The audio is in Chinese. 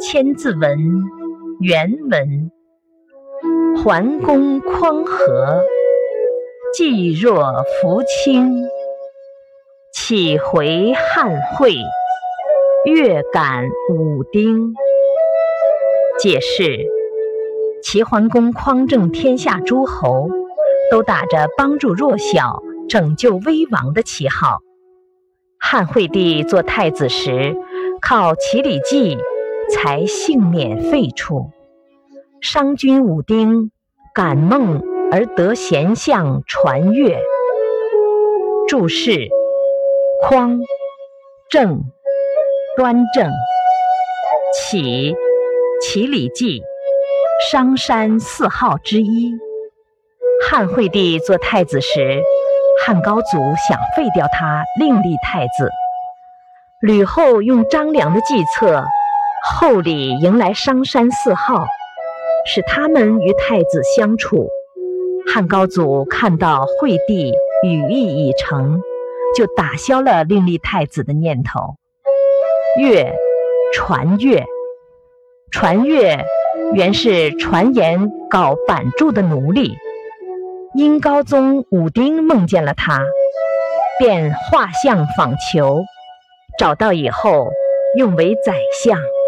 千字文原文：桓公匡和，既若扶倾，岂回汉会，月感武丁。解释：齐桓公匡正天下诸侯，都打着帮助弱小、拯救危亡的旗号。汉惠帝做太子时，靠齐礼记才幸免废黜。商君武丁感梦而得贤相传阅。注释：匡，正，端正。启，齐礼记，商山四号之一。汉惠帝做太子时，汉高祖想废掉他，另立太子。吕后用张良的计策，厚礼迎来商山四号，使他们与太子相处。汉高祖看到惠帝羽翼已成，就打消了另立太子的念头。乐，传乐。传乐原是传言搞版筑的奴隶，殷高宗武丁梦见了他，便画像访求，找到以后用为宰相。